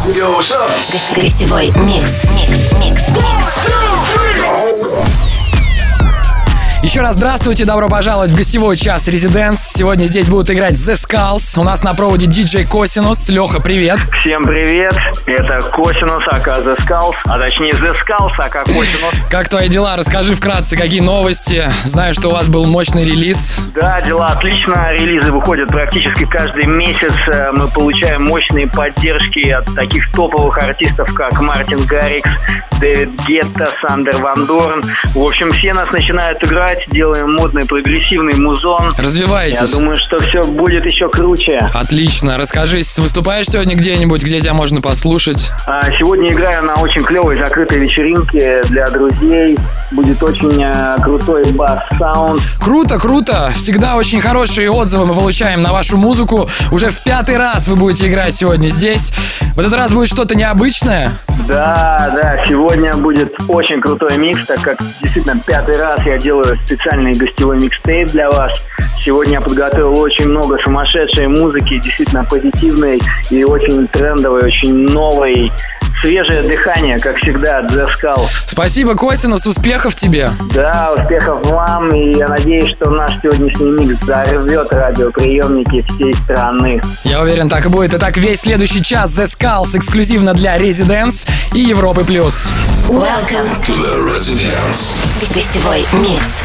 Yo, what's up? Гостевой микс. Еще раз здравствуйте, добро пожаловать в гостевой час Residence. Сегодня здесь будут играть The Skulls. У нас на проводе диджей Косинус. Леха, привет. Всем привет, это Косинус, ака The Skulls, а точнее The Skulls, ака Косинус. Как твои дела? Расскажи вкратце, какие новости. Знаю, что у вас был мощный релиз. Да, дела отлично, релизы выходят практически каждый месяц. Мы получаем мощные поддержки от таких топовых артистов, как Мартин Гаррикс, Дэвид Гетта, Сандер Ван Дорн. В общем, все нас начинают играть, делаем модный прогрессивный музон. Развиваетесь. Я думаю, что все будет еще круче. Отлично. Расскажи, выступаешь сегодня где-нибудь, где тебя можно послушать? Сегодня играю на очень клевой закрытой вечеринке для друзей. Будет очень крутой бас-саунд. Круто. Всегда очень хорошие отзывы мы получаем на вашу музыку. Уже в 5-й раз вы будете играть сегодня здесь. В этот раз будет что-то необычное? Да, сегодня будет очень крутой микс, так как действительно 5-й раз я делаю специальный гостевой микстейп для вас. Сегодня я подготовил очень много сумасшедшей музыки, действительно позитивной и очень трендовой, очень новой. Свежее дыхание, как всегда, от The Skulls. Спасибо, Косинус, успехов тебе. Да, успехов вам, и я надеюсь, что наш сегодняшний микс взорвет радиоприемники всей страны. Я уверен, так и будет. Итак, весь следующий час The Skulls эксклюзивно для Residence и Европы+. Welcome To the Residence. Гостевой микс.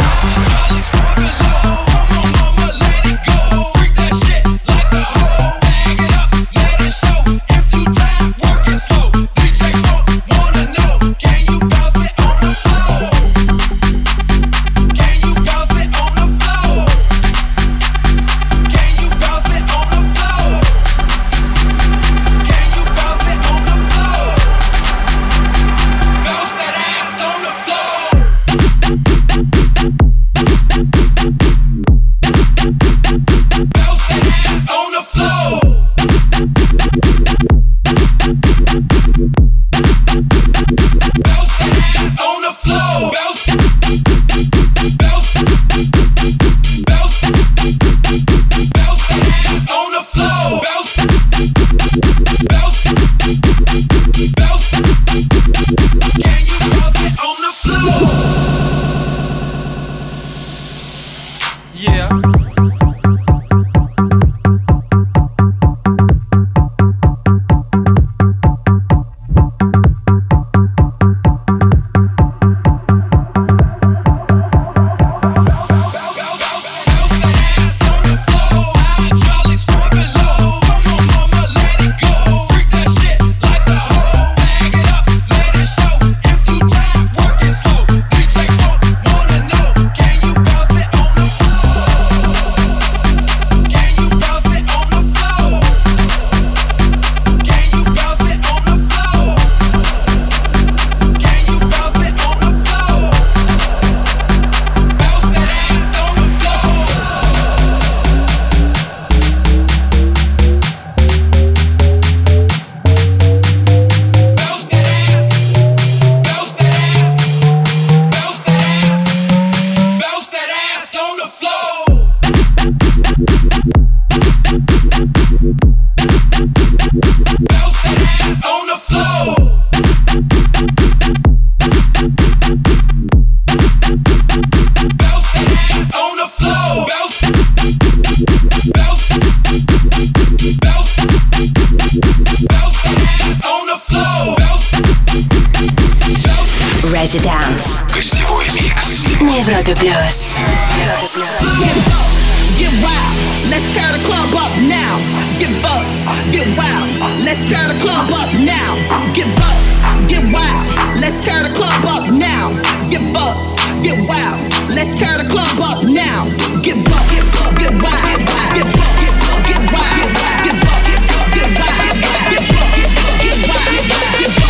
Residence. Гостевой микс. На Европе Плюс. Get wild, let's tear the club up now. Get buck, get wild, let's tear the club up now. Get buck, get wild, let's tear the club up now. Get buck, get wild, let's tear the club up now. Get buck, get wild, get buck, get wild, get buck, get wild, get buck, get wild, get buck.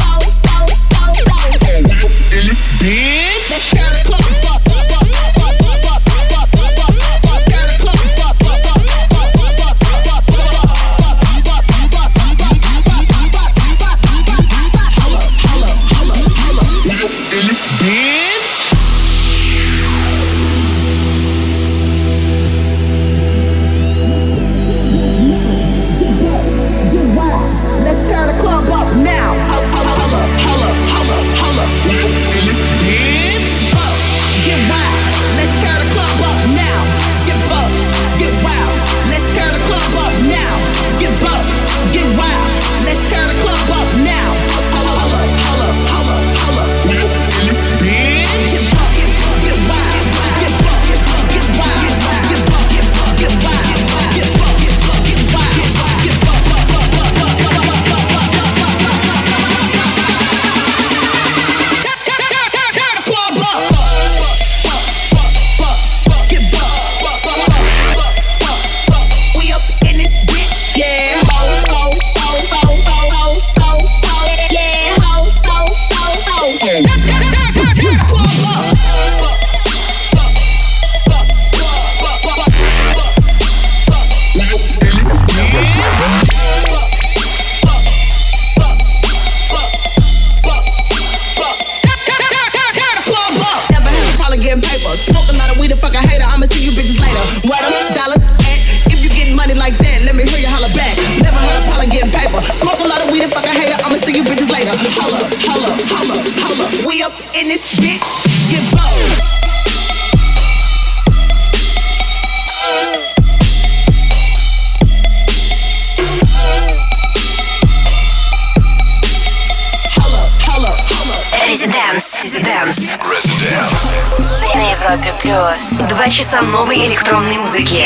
In this bitch, let's tear the club up. Plus. 2 часа новой электронной музыки.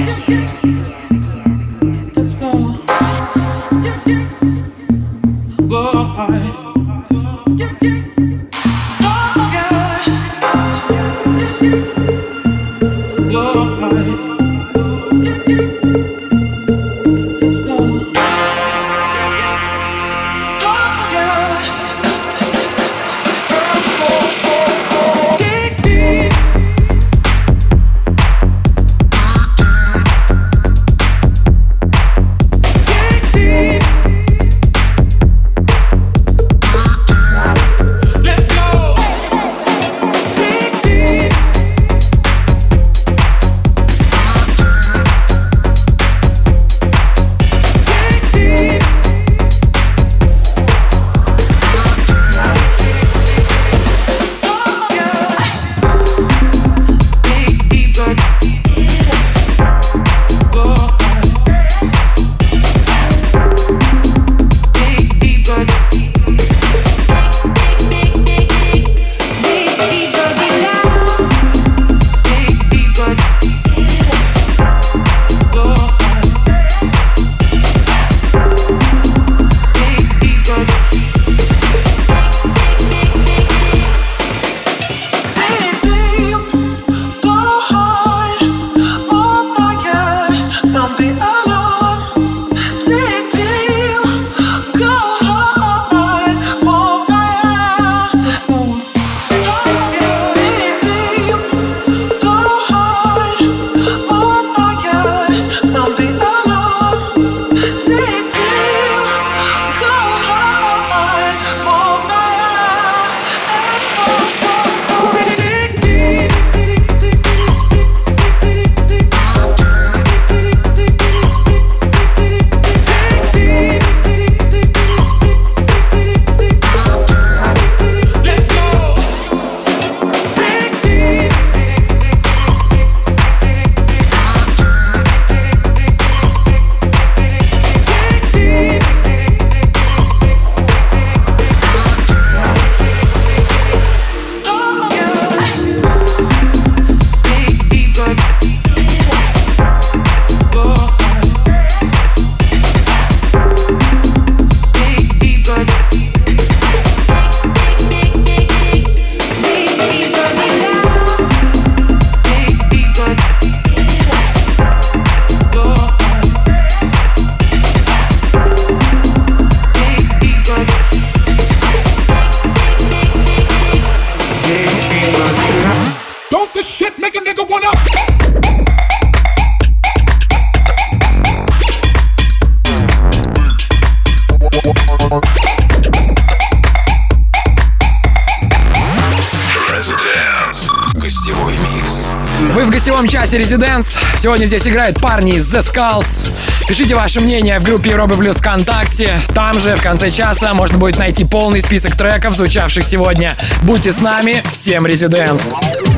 Вы в гостевом часе Residence. Сегодня здесь играют парни из The Skulls. Пишите ваше мнение в группе Европы Плюс ВКонтакте. Там же в конце часа можно будет найти полный список треков, звучавших сегодня. Будьте с нами. Всем Residence.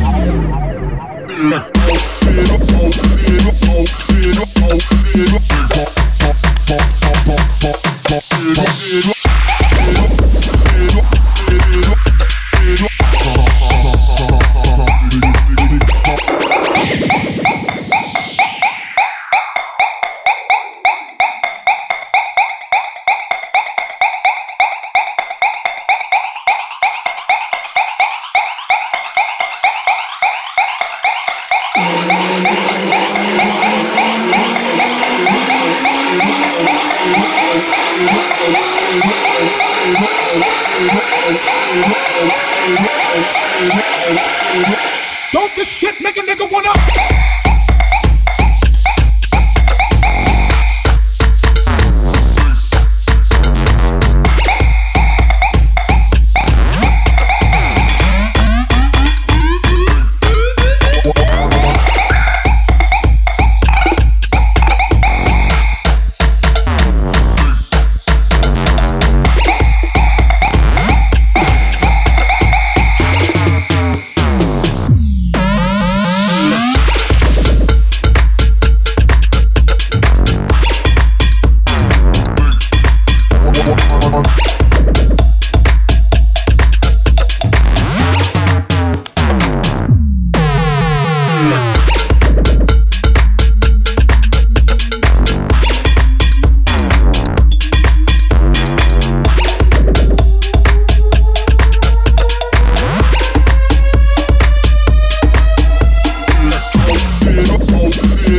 Don't this shit make a nigga wanna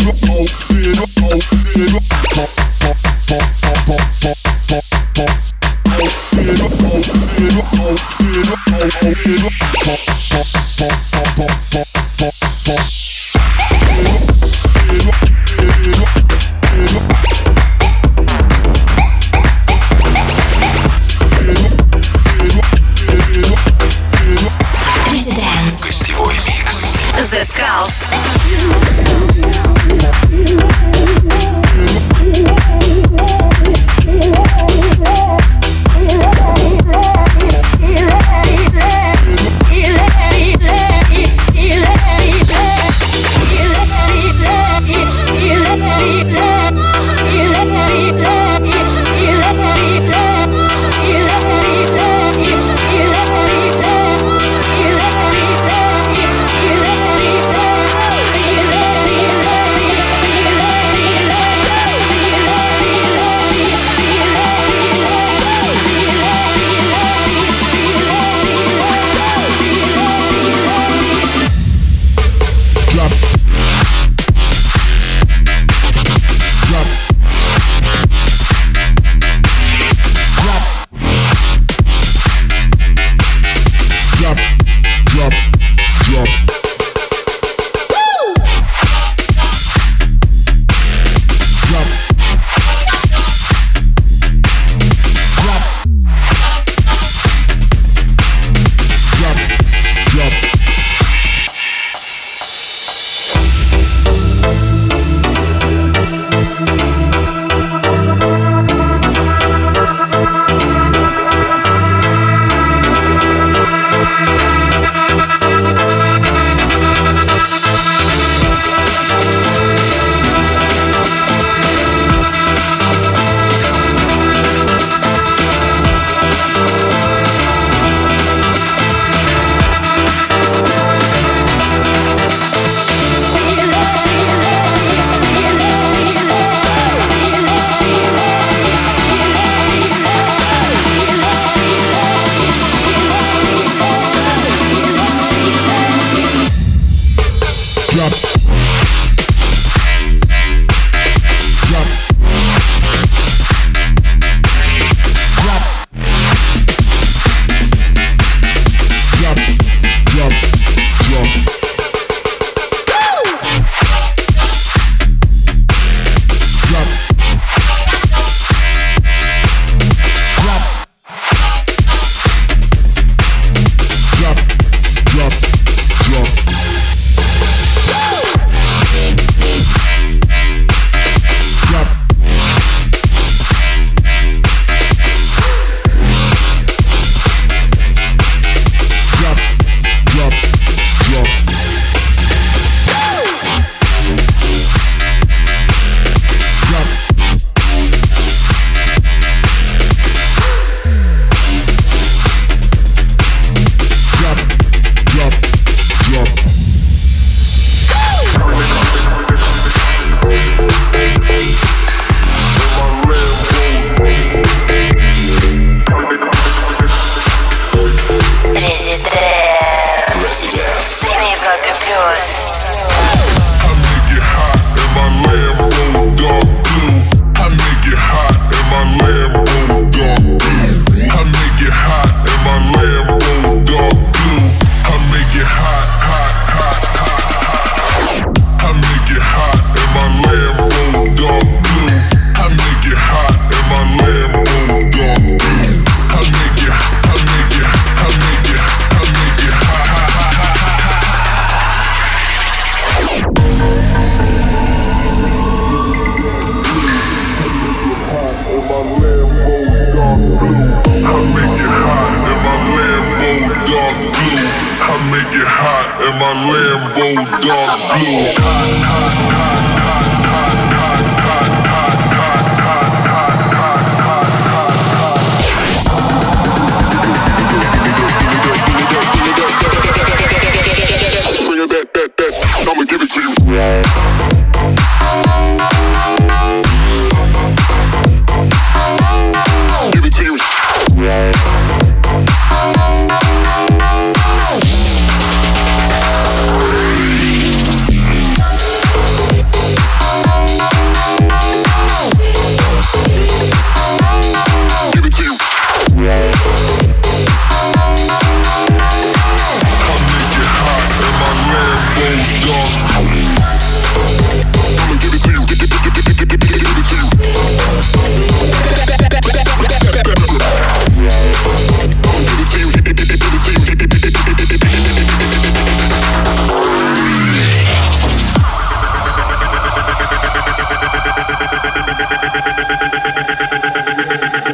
Гостевой микс. The Skulls.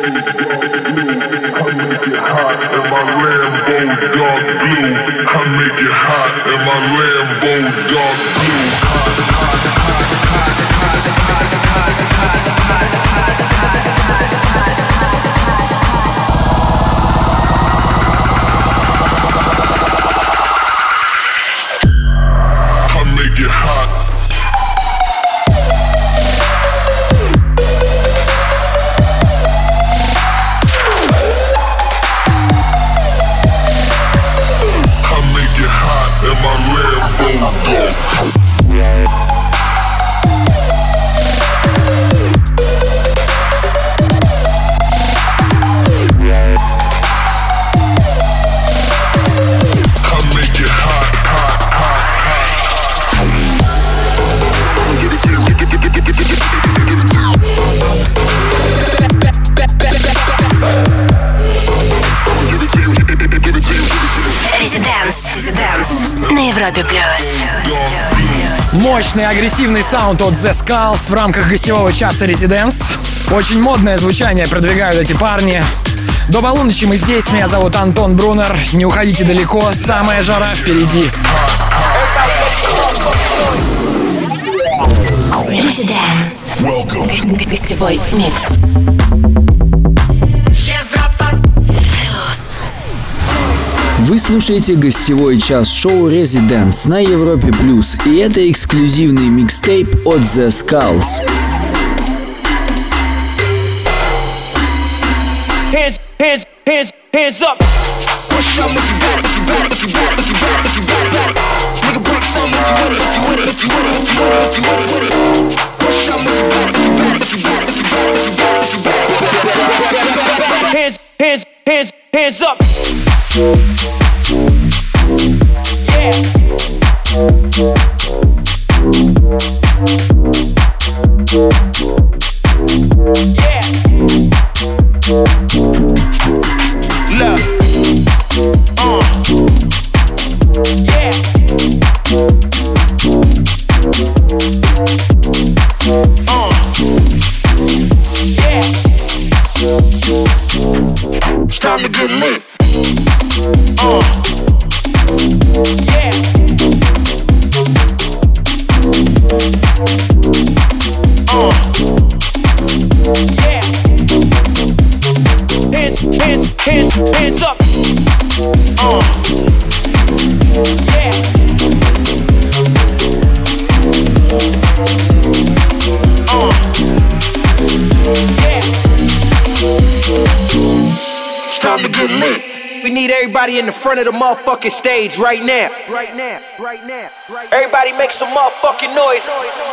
Мощный агрессивный саунд от The Skulls в рамках гостевого часа Residence. Очень модное звучание продвигают эти парни. До полуночи мы здесь. Меня зовут Антон Брунер. Не уходите далеко. Самая жара впереди. Residence. Гостевой микс. Вы слушаете гостевой час шоу Residence на Европе Плюс, и это эксклюзивный микстейп от The Skulls. Hands up. Push up if you got it, if you got it, if you got it, if you got it, if you got it. Nigga break some if you want it, if you want it, if you want it, if you want it, if you want it. Push up if you got it, if you got it, if you got it, if you got it, if you got it, if you got it. Hands up. Yeah. Yeah. Look. Yeah. Yeah. It's time to get lit. Yeah. Yeah. Hands up. Yeah. Yeah. It's time to get lit. We need everybody in the front of the motherfucking stage right now. Right now. Everybody make some motherfucking noise.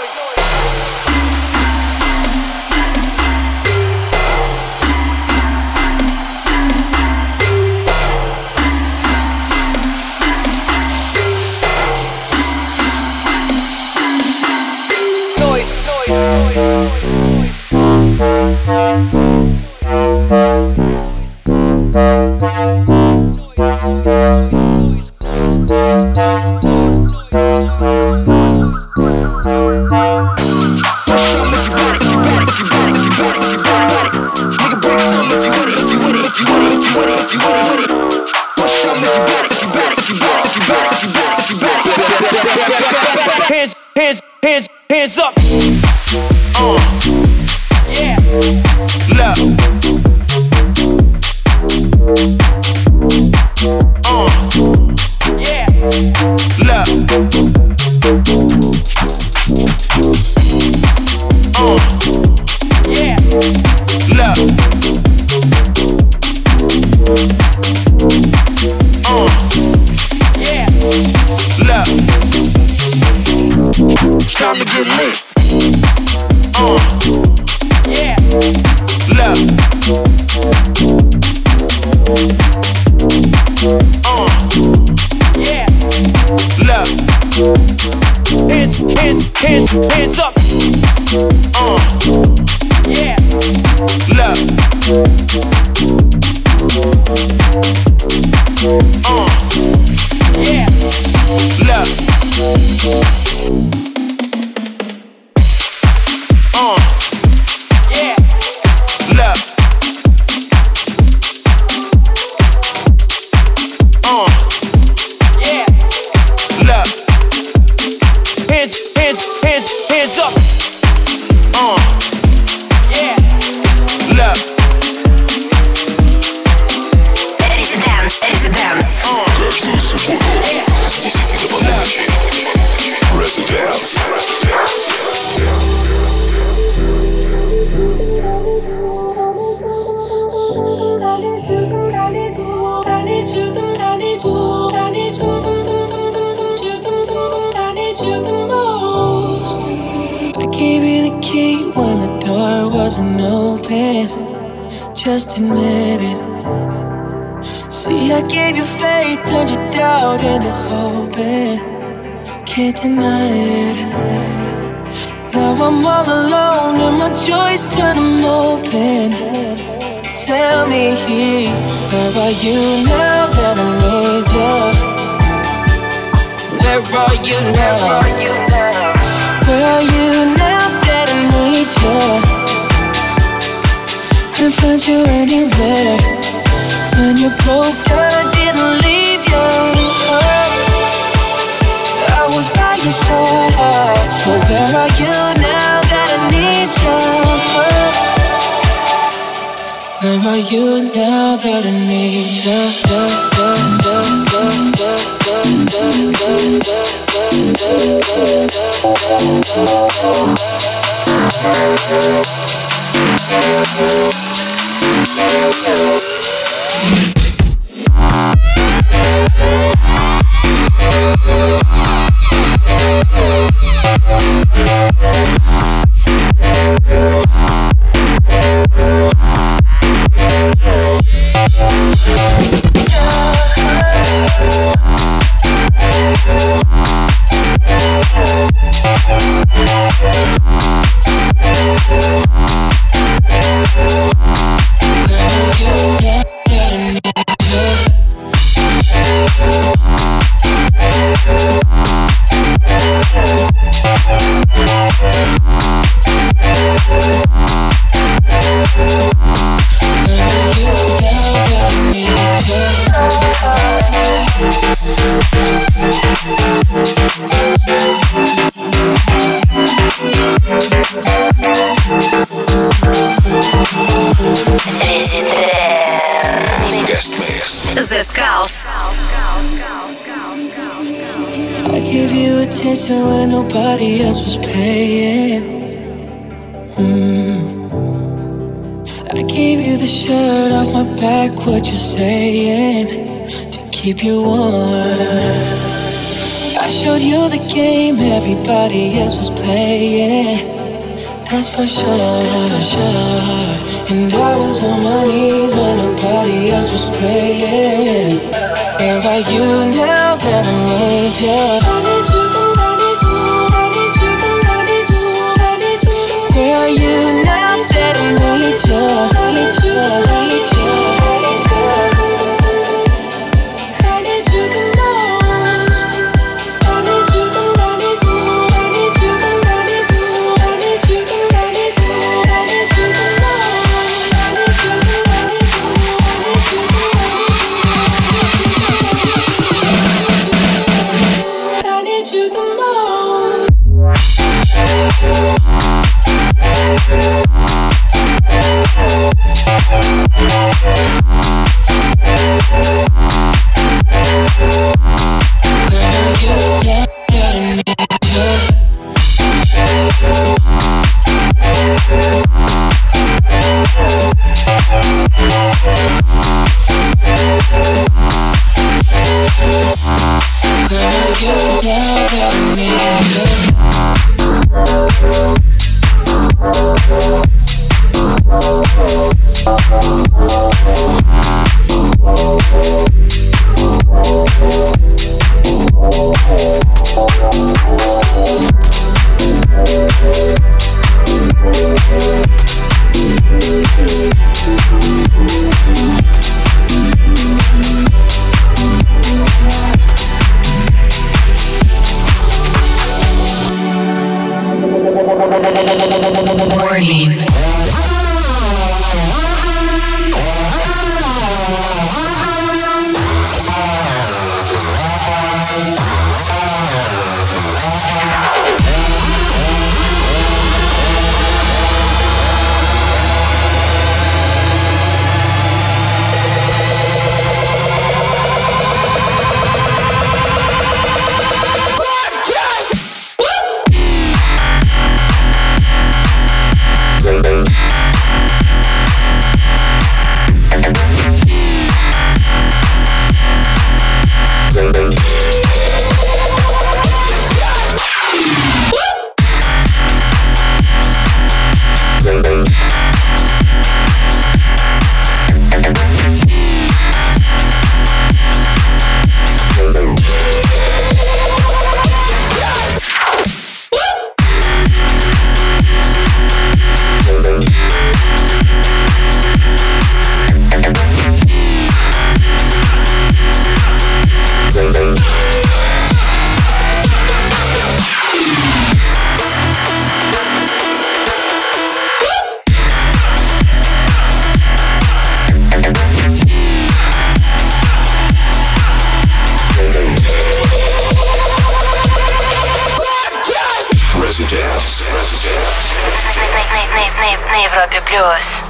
Hands up. Yeah. Look. Yeah. Look. Yeah. Look. Yeah. Look. It's time to get lit. Yeah. Look. Yeah. Look. Hands up. Yeah. Look. Yeah. Look. Yeah. Look. key when the door wasn't open. Just admit it. See, I gave you faith, turned your doubt into hope, and can't deny it. Now I'm all alone and my joys turn them open. Tell me, where are you now that I need you? Where are you now? Where are you now that I need you? Couldn't find you anywhere. When you broke down, I didn't leave you. I was by your side. So where are you now that I need you? Where are you now that I need you? Guest mix. The Skulls. I gave you attention when nobody else was paying. I gave you the shirt off my back, what you saying, to keep you warm. I showed you the game everybody else was playing. That's for sure. And I was on my knees when nobody else was praying. Where are you now that I need you? I need you, I need you, I need you, I need you, I need you. Where are you now that I need you? I need you, I need you, I need you. I need you the most. I need you, I need you, I need you, I need you, I need you, I need you, I need you the most. I need you, I need you, I need you, I need you the most. Warning. Woo! Европе плюс.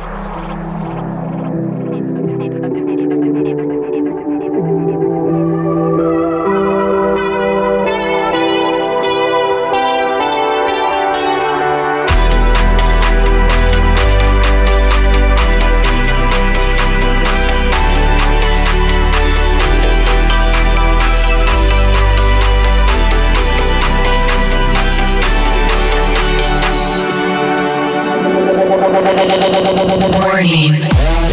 Warning.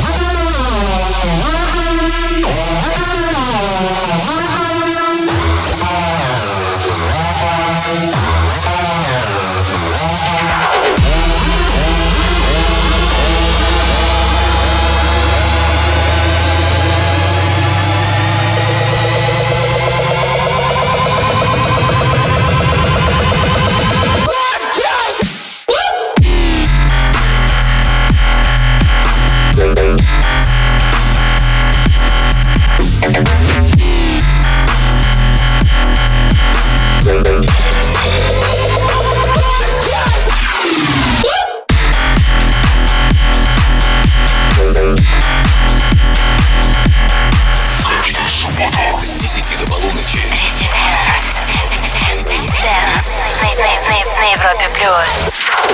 На Европе плюс.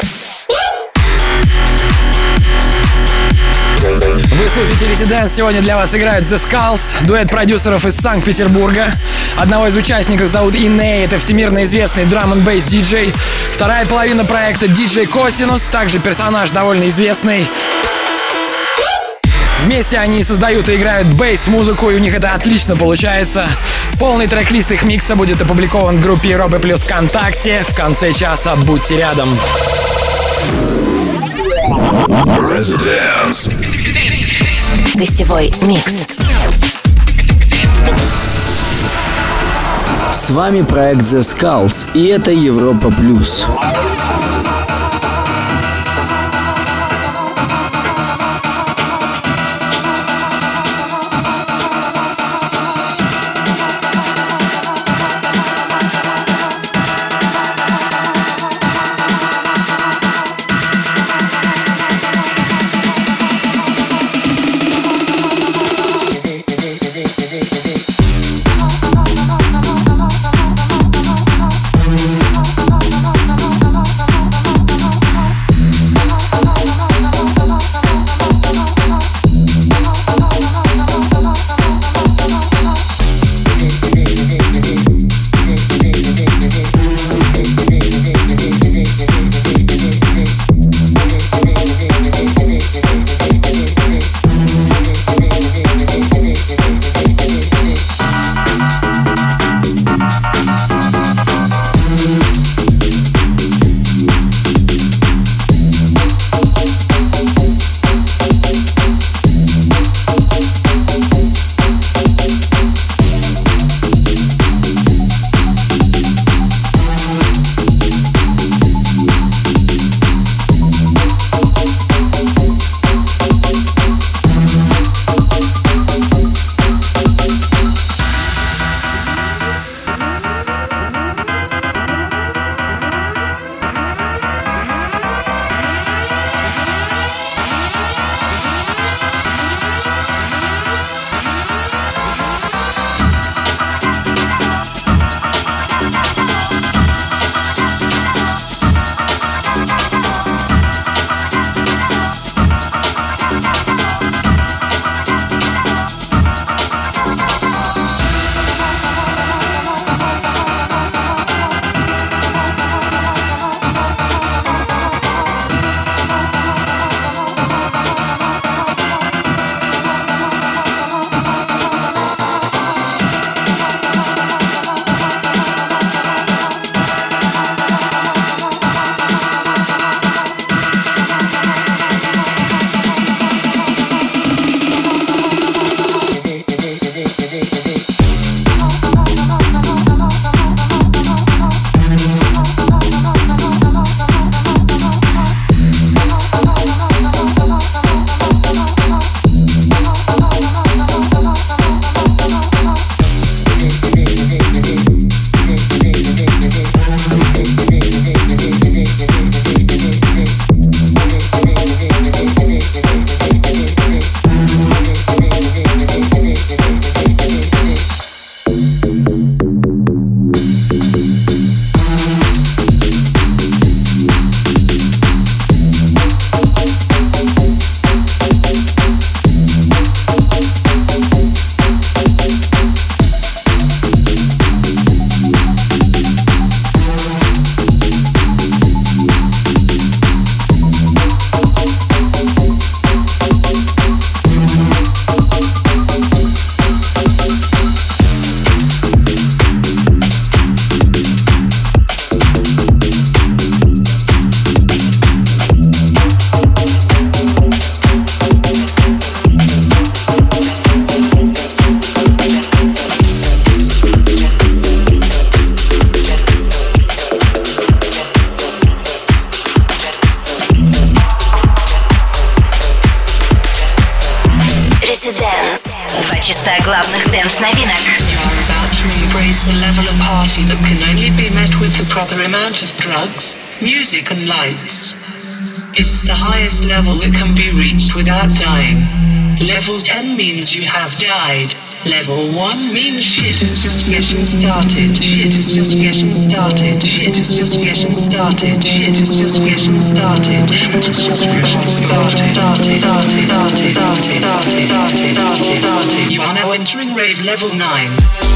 Вы слушаете Residence. Сегодня для вас играют The Skulls, дуэт продюсеров из Санкт-Петербурга. Одного из участников зовут Иней, это всемирно известный драм-н-бейс диджей. Вторая половина проекта диджей Косинус, также персонаж довольно известный. Вместе они создают и играют бейс-музыку, и у них это отлично получается. Полный трек-лист их микса будет опубликован в группе Европы Плюс ВКонтакте. В конце часа будьте рядом. Residence. Гостевой микс. С вами проект The Skulls, и это Европа Плюс. часа главных дэнс-новинок. You're about to embrace a level of party that can only be met with the proper amount of drugs, music and lights. It's the highest level that can be reached without dying. Level 10 means you have died. Level 1 means shit is just getting started. Shit is just getting started. Shit is just getting started. Shit is just getting started. Shit is just getting started. You are now entering rave level 9.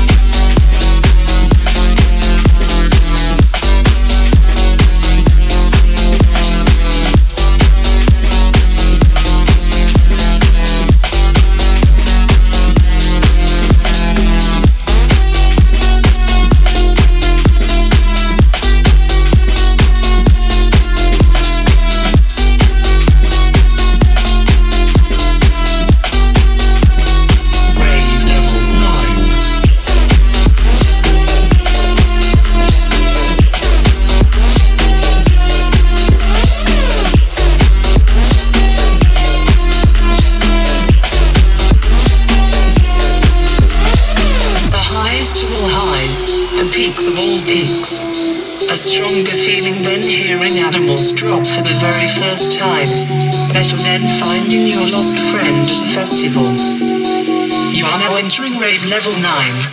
Drop for the very first time. Better than finding your lost friend at a festival. You are now entering rave level 9.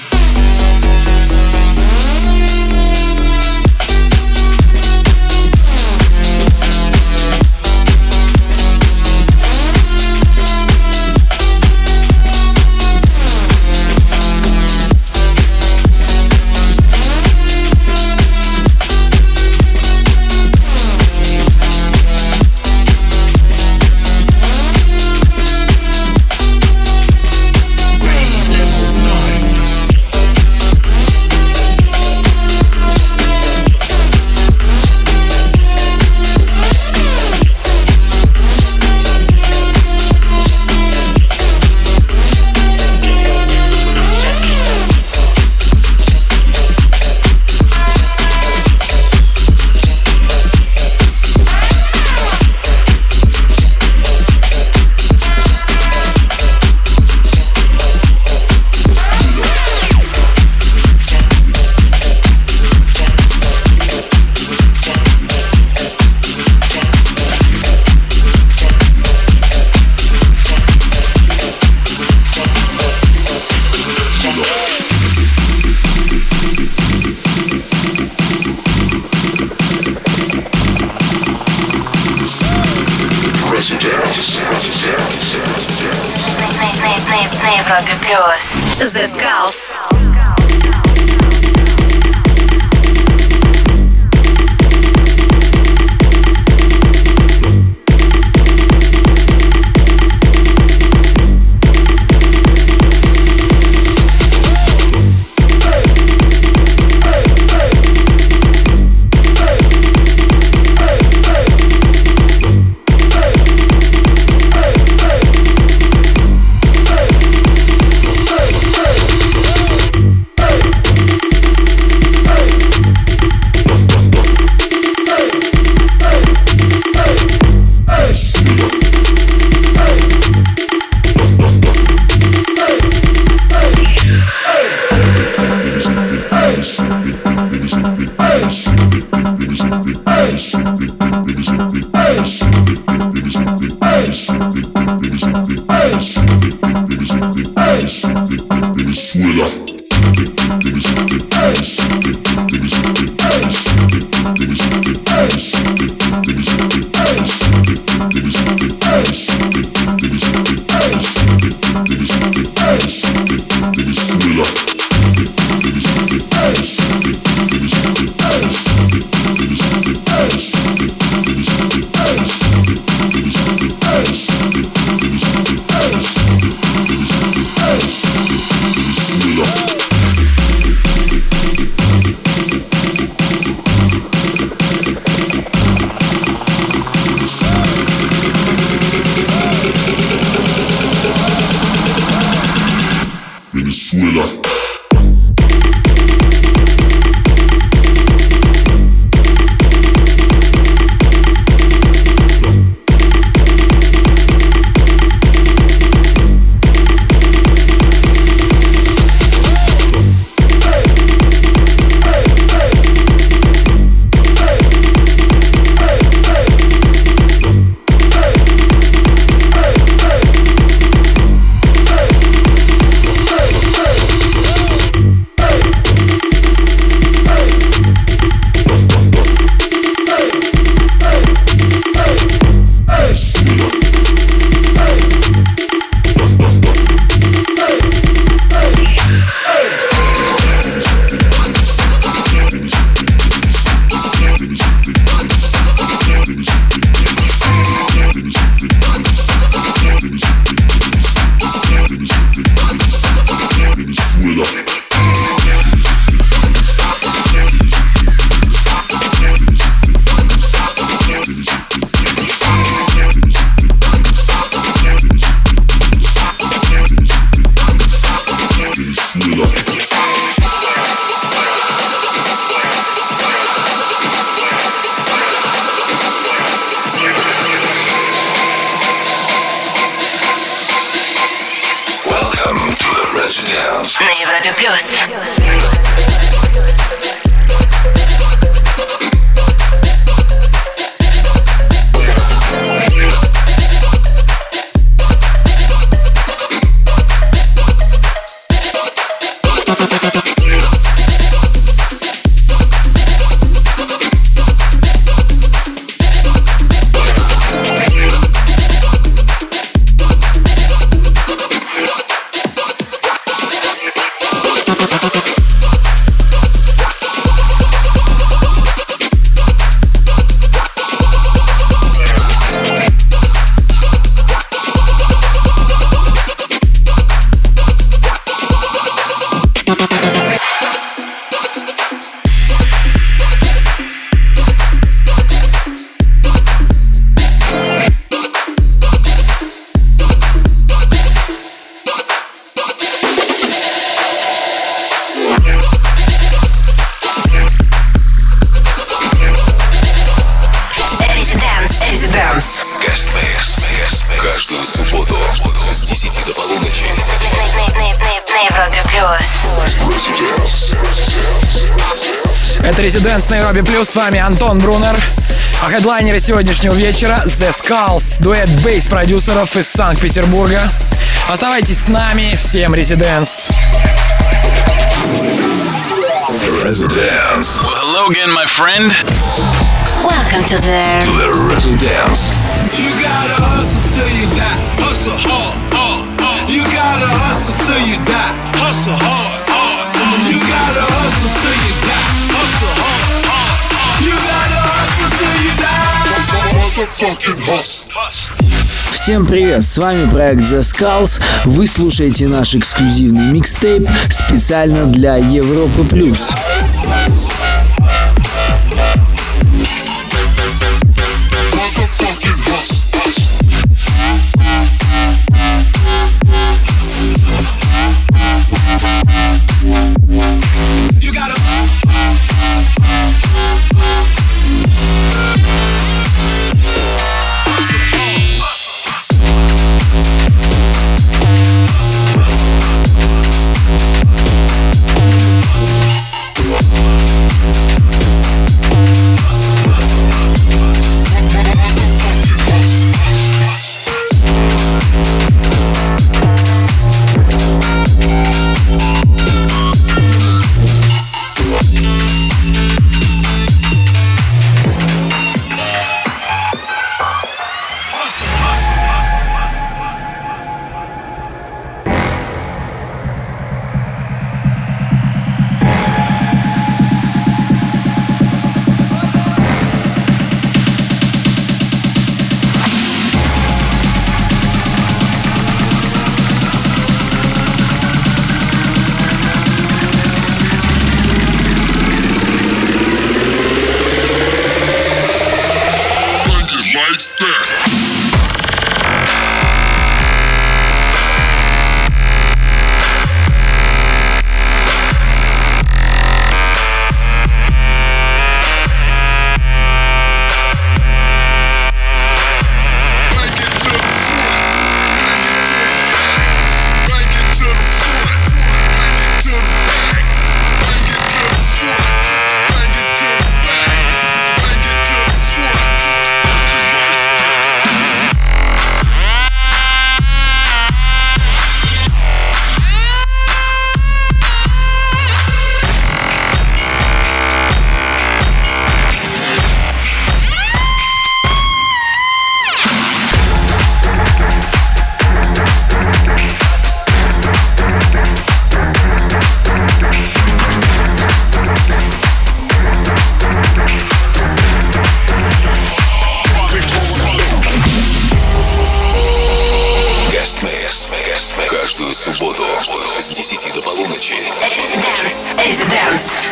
На Европе Плюс. The Skulls. Европе плюс. Каждую субботу с 10 до полуночи. На Европе плюс. Это Residence на Европе плюс. С вами Антон Брунер. А хедлайнеры сегодняшнего вечера The Skulls, дуэт бейс-продюсеров из Санкт-Петербурга. Оставайтесь с нами. Всем Residence. Residence. Well, hello again, my friend. Welcome to the Residence. You gotta hustle till you die. Hustle hard, hard. You gotta hustle till you die. Hustle hard, hard. You gotta hustle till you die. Hustle hard, hard. You gotta hustle till you die. Motherfucking hustle. Всем привет, с вами проект The Skulls. Вы слушаете наш эксклюзивный микстейп специально для Европы плюс. Каждую субботу с 10 до полуночи. Residence.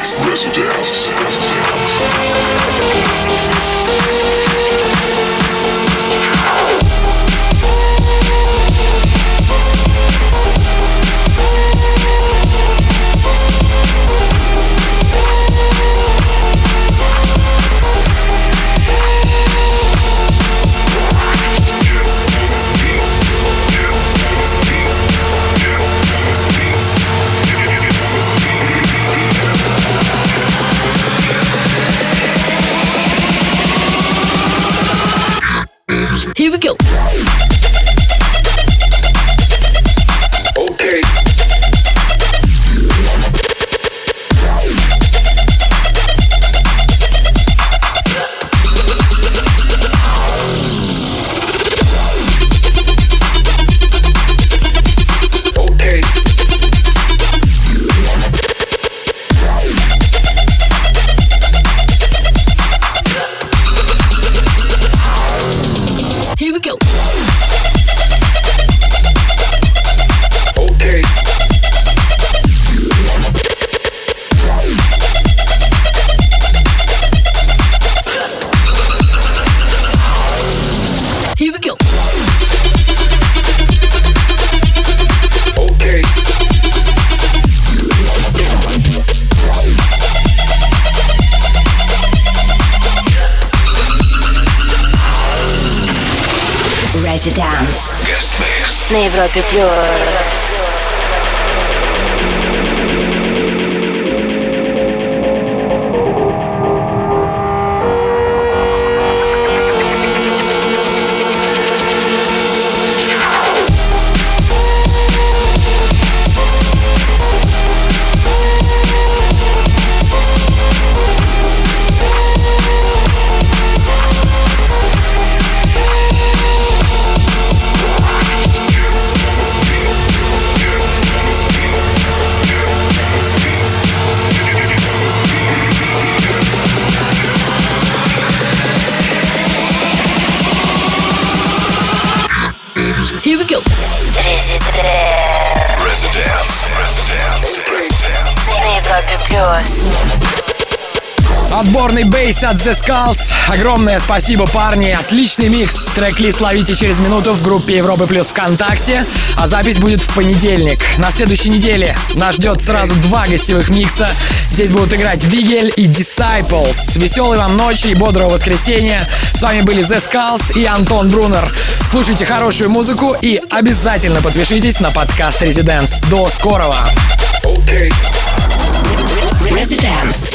Here we go. Okay. Here we go. Okay. Here we go. Okay. Residence Guest mix. на Европе плюс. Here we go. Residence. На Европе плюс. Отборный бейс от The Skulls. Огромное спасибо, парни. Отличный микс. Трек-лист ловите через минуту в группе Европы Плюс ВКонтакте. А запись будет в понедельник. На следующей неделе нас ждет сразу 2 гостевых микса. Здесь будут играть Вигель и Disciples. Веселой вам ночи и бодрого воскресенья. С вами были The Skulls и Антон Брунер. Слушайте хорошую музыку и обязательно подпишитесь на подкаст Residence. До скорого. Okay. Residence.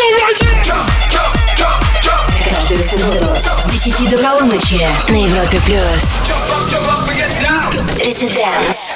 Каждую субботу с 10 до полуночи на Европе плюс. Residence.